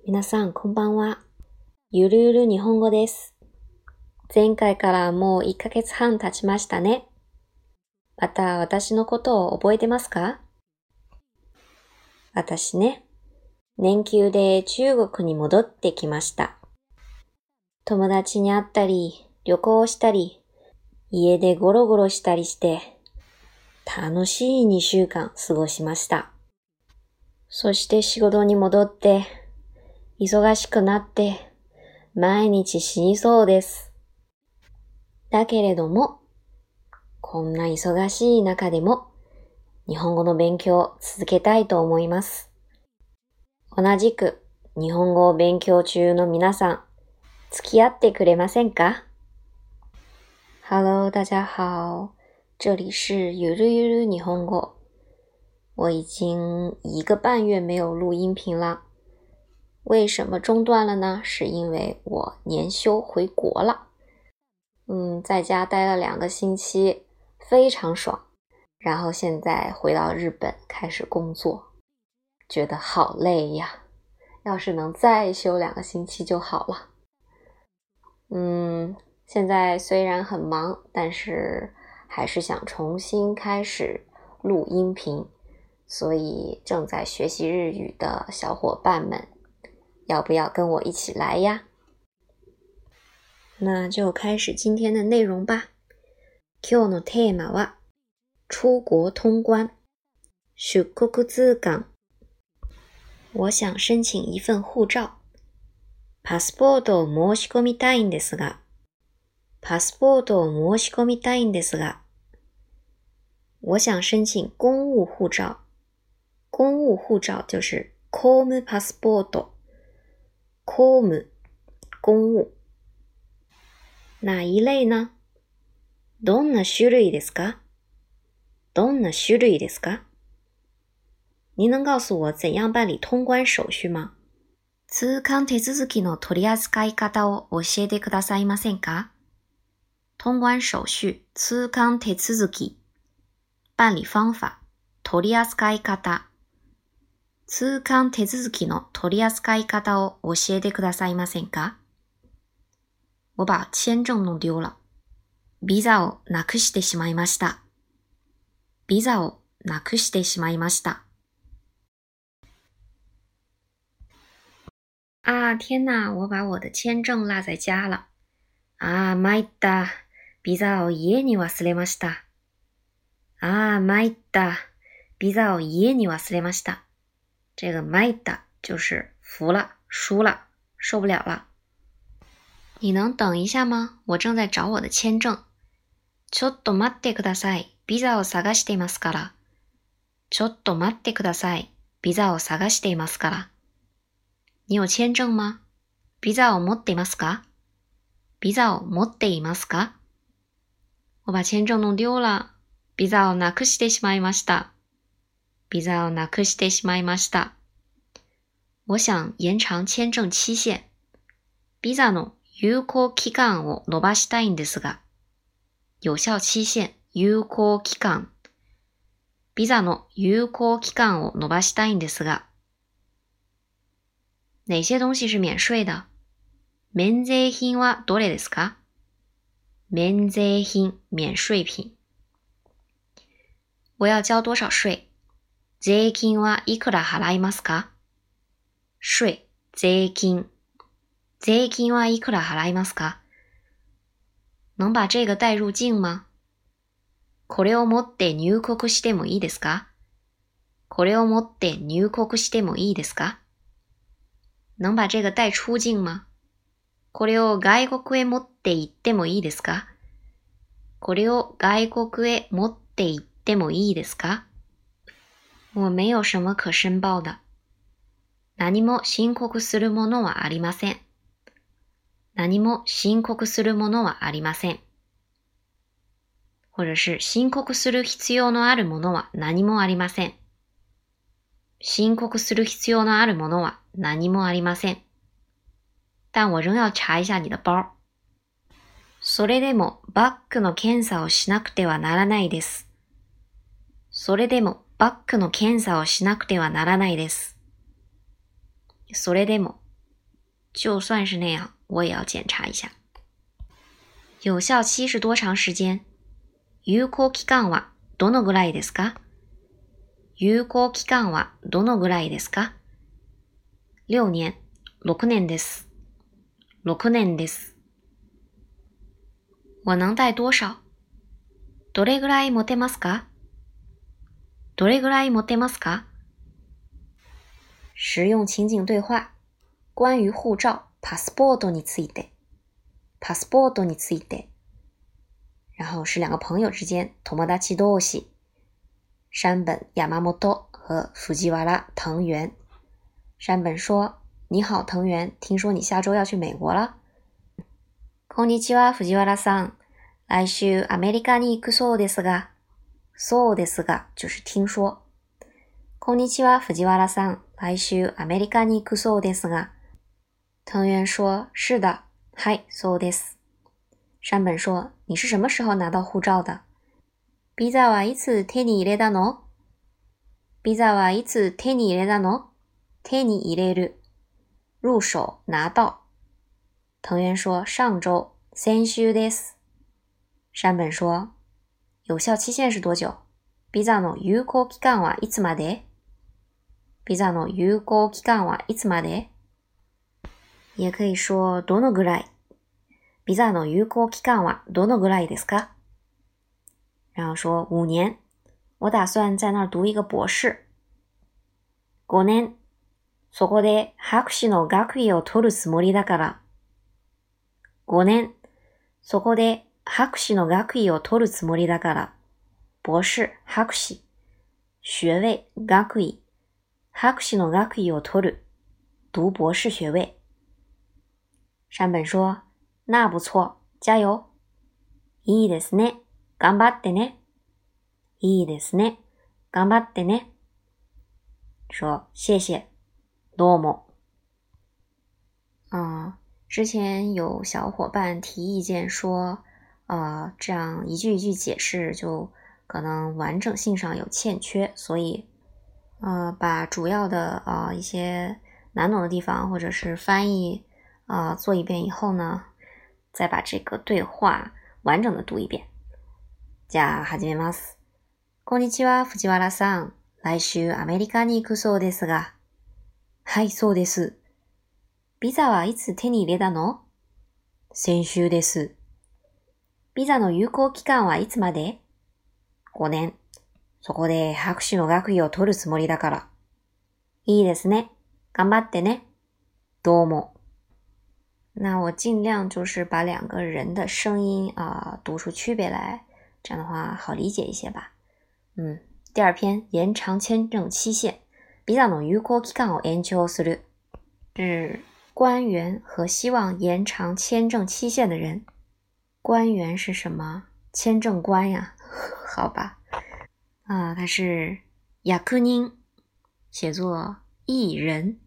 皆さんこんばんは。ゆるゆる日本語です。前回からもう1ヶ月半経ちましたね。また私のことを覚えてますか？私ね、年休で中国に戻ってきました。友達に会ったり、旅行したり、家でゴロゴロしたりして、楽しい2週間過ごしました。そして仕事に戻って、忙しくなって、毎日死にそうです。だけれども、こんな忙しい中でも、日本語の勉強を続けたいと思います。同じく日本語を勉強中の皆さん、付き合ってくれませんか？ Hello， 大家好，这里是ゆるゆる日本語。我已经1个半月没有录音频了。为什么中断了呢？是因为我年休回国了。在家待了2个星期，非常爽。然后现在回到日本开始工作，觉得好累呀。要是能再休2个星期就好了。现在虽然很忙，但是还是想重新开始录音频，所以正在学习日语的小伙伴们，要不要跟我一起来呀？那就开始今天的内容吧。今日のテーマは出国通关、出国通関。我想申請一份護照。パスポートを申し込みたいんですが。我想申請公務護照。公務護照就是公務パスポート。公務、公務。哪一類呢？どんな種類ですか？您能告诉我怎样办理通关手续吗？通関手続きの取り扱い方を教えてくださいませんか？通关手续、通関手続き、办理方法、取り扱い方。通関手続きの取り扱い方を教えてくださいませんか？我把签证弄丢了。ビザをなくしてしまいました。啊，天哪，我把我的签证落在家了。あー、参った。ビザを家に忘れました。这个参った就是服了、输了、受不了了。你能等一下吗？我正在找我的签证。ちょっと待ってください。ビザを探していますから。你有签证吗？ビザを持っていますか？我把签证弄丢了。ビザをなくしてしまいました。我想延長签证期限。ビザの有効期間を延ばしたいんですが。有效期限、有効期間。ビザの有効期間を延ばしたいんですが。哪些東西是免税的？免税品はどれですか？免税品、免税品。我要交多少税？税金はいくら払いますか？税、税金。税金はいくら払いますか？能把这个带入境吗？これを持って入国してもいいですか？能把这个带出境吗？これを外国へ持って行ってもいいですか？我没有什么可申报的。何も申告するものはありません。或者是申告する必要のあるものは何もありません。但我仍要查一下你的包。それでもバッグの検査をしなくてはならないです。それでも就算是那样，我也要检查一下。有效期是多长时间？有効期間はどのぐらいですか？有効期間はどのぐらいですか？6年、6年です。6年です。我能带多少？どれぐらい持てますか？どれぐらい持てますか？实用情景对话。关于护照、パスポートについて。パスポートについて。然后是两个朋友之间、友達同士。山本、山本和藤原、藤原。山本说：“你好，藤原，听说你下周要去美国了。”こんにちは、藤原さん。来週アメリカに行くそうですが。そうですが就是听说。こんにちは、藤原さん。来週アメリカに行くそうですが。藤原说：“是的，はい、そうです。”山本说：“你是什么时候拿到护照的？”ビザはいつ手に入れたの？ビザはいつ手に入れたの？手に入れる。入手、拿到。藤原说：“上周、先週です。”山本说：“有效期限是多久？ビザの有効期間はいつまで？ビザの有効期間はいつまで？”也可以说どのぐらい。ビザの有効期間はどのぐらいですか？然后说5年，我打算在那儿读一个博士。5年、そこで博士の学位を取るつもりだから。5年、そこで博士の学位を取るつもりだから。博士、博士。学位、学位。博士の学位を取る。读博士学位。山本说：“那不错，加油。”いいですね。頑張ってね。いいですね。頑張ってね。说谢谢。どうも。之前有小伙伴提意见说，这样一句一句解释就可能完整性上有欠缺，所以把主要的一些难懂的地方或者是翻译做一遍以后呢，再把这个对话完整的读一遍。じゃあ始めます。こんにちは、藤原さん。来週アメリカに行くそうですが。はい、そうです。ビザはいつ手に入れたの？先週です。ビザの有効期間はいつまで？5年。そこで博士の学位を取るつもりだから。いいですね。頑張ってね。どうも。那我尽量就是把两个人的声音读出区别来，这样的话好理解一些吧。第二篇延长签证期限。ビザの有効期間を延長する。是官员和希望延长签证期限的人。官员是什么？签证官呀。好吧。他是役人，写作艺人。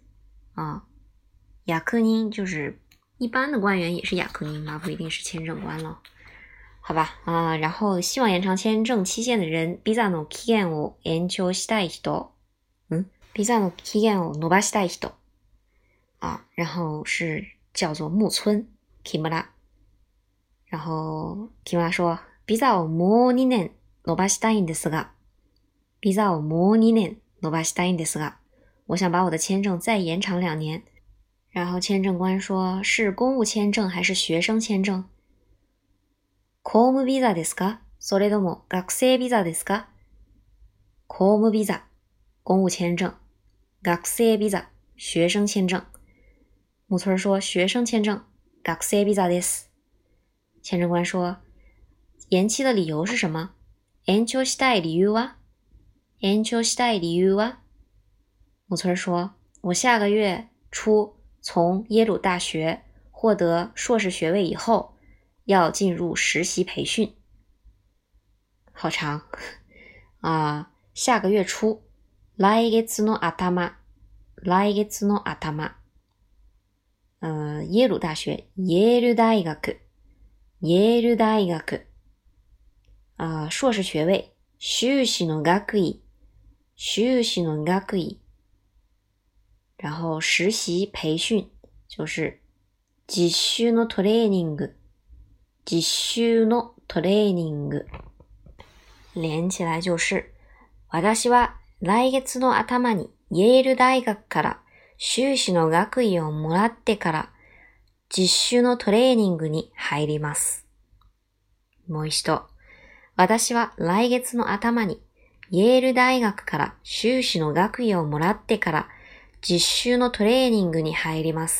役人就是一般的官员也是役人嘛，不一定是签证官了。好吧。然后希望延长签证期限的人。ビザの期限を延長したい人。ビザの期限を伸ばしたい人。然后是叫做木村 Kimura。然后 Kimura 说ビザをもう2年伸ばしたいんですが。ビザをもう2年伸ばしたいんですが。我想把我的签证再延长2年。然后签证官说是公务签证还是学生签证？公務ビザですか？それとも学生ビザですか？公務ビザ、公務签证。学生ビザ、学生签证。木村说学生签证。学生ビザです。签证官说延期的理由是什么？延長したい理由は？延長したい理由は？木村说我下个月初从耶鲁大学获得硕士学位以后要进入实习培训。好长下个月初。来月の頭。来月の頭。耶鲁大学。耶鲁大学。耶鲁大学。硕士学位。修士の学位。修士の学位。然后实习培训。 就是実習のトレーニング。実習のトレーニング。連起来就是、私は来月の頭にイェール大学から修士の学位をもらってから実習のトレーニングに入ります。もう一度。私は来月の頭にイェール大学から修士の学位をもらってから実習のトレーニングに入ります。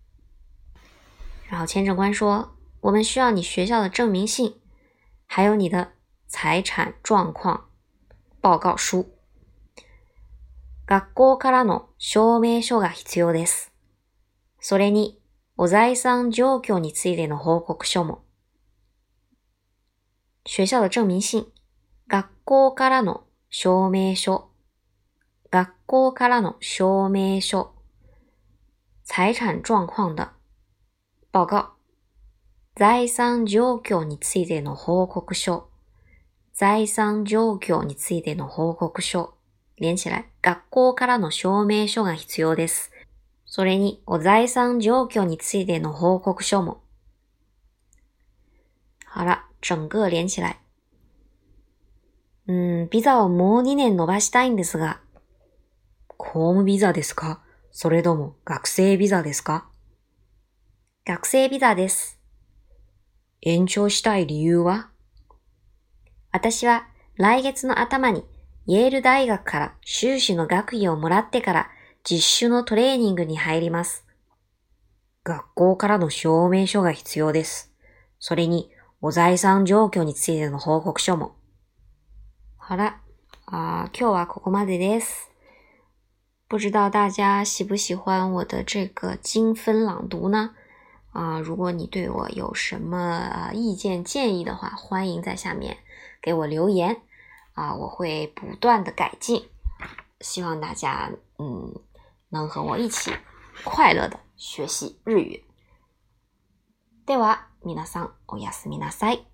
然后签证官说，我们需要你学校的证明信，还有你的財產状況報告書。学校からの証明書が必要です。それに、お財産状況についての報告書も。学校的证明信、学校からの証明書、学校からの証明書、財產状況的報告、財産状況についての報告書、財産状況についての報告書。連起来、学校からの証明書が必要です。それに、お財産状況についての報告書も。好了。整个連起来。ビザをもう2年延ばしたいんですが。公務ビザですか？それとも学生ビザですか？学生ビザです。延長したい理由は？私は来月の頭にイェール大学から修士の学位をもらってから実習のトレーニングに入ります。学校からの証明書が必要です。それに、お財産状況についての報告書も。好了，今日はここまでです。不知道大家喜不喜欢我的这个精分朗读呢？如果你对我有什么意见建议的话，欢迎在下面给我留言我会不断的改进。希望大家能和我一起快乐的学习日语。では皆さんおやすみなさい。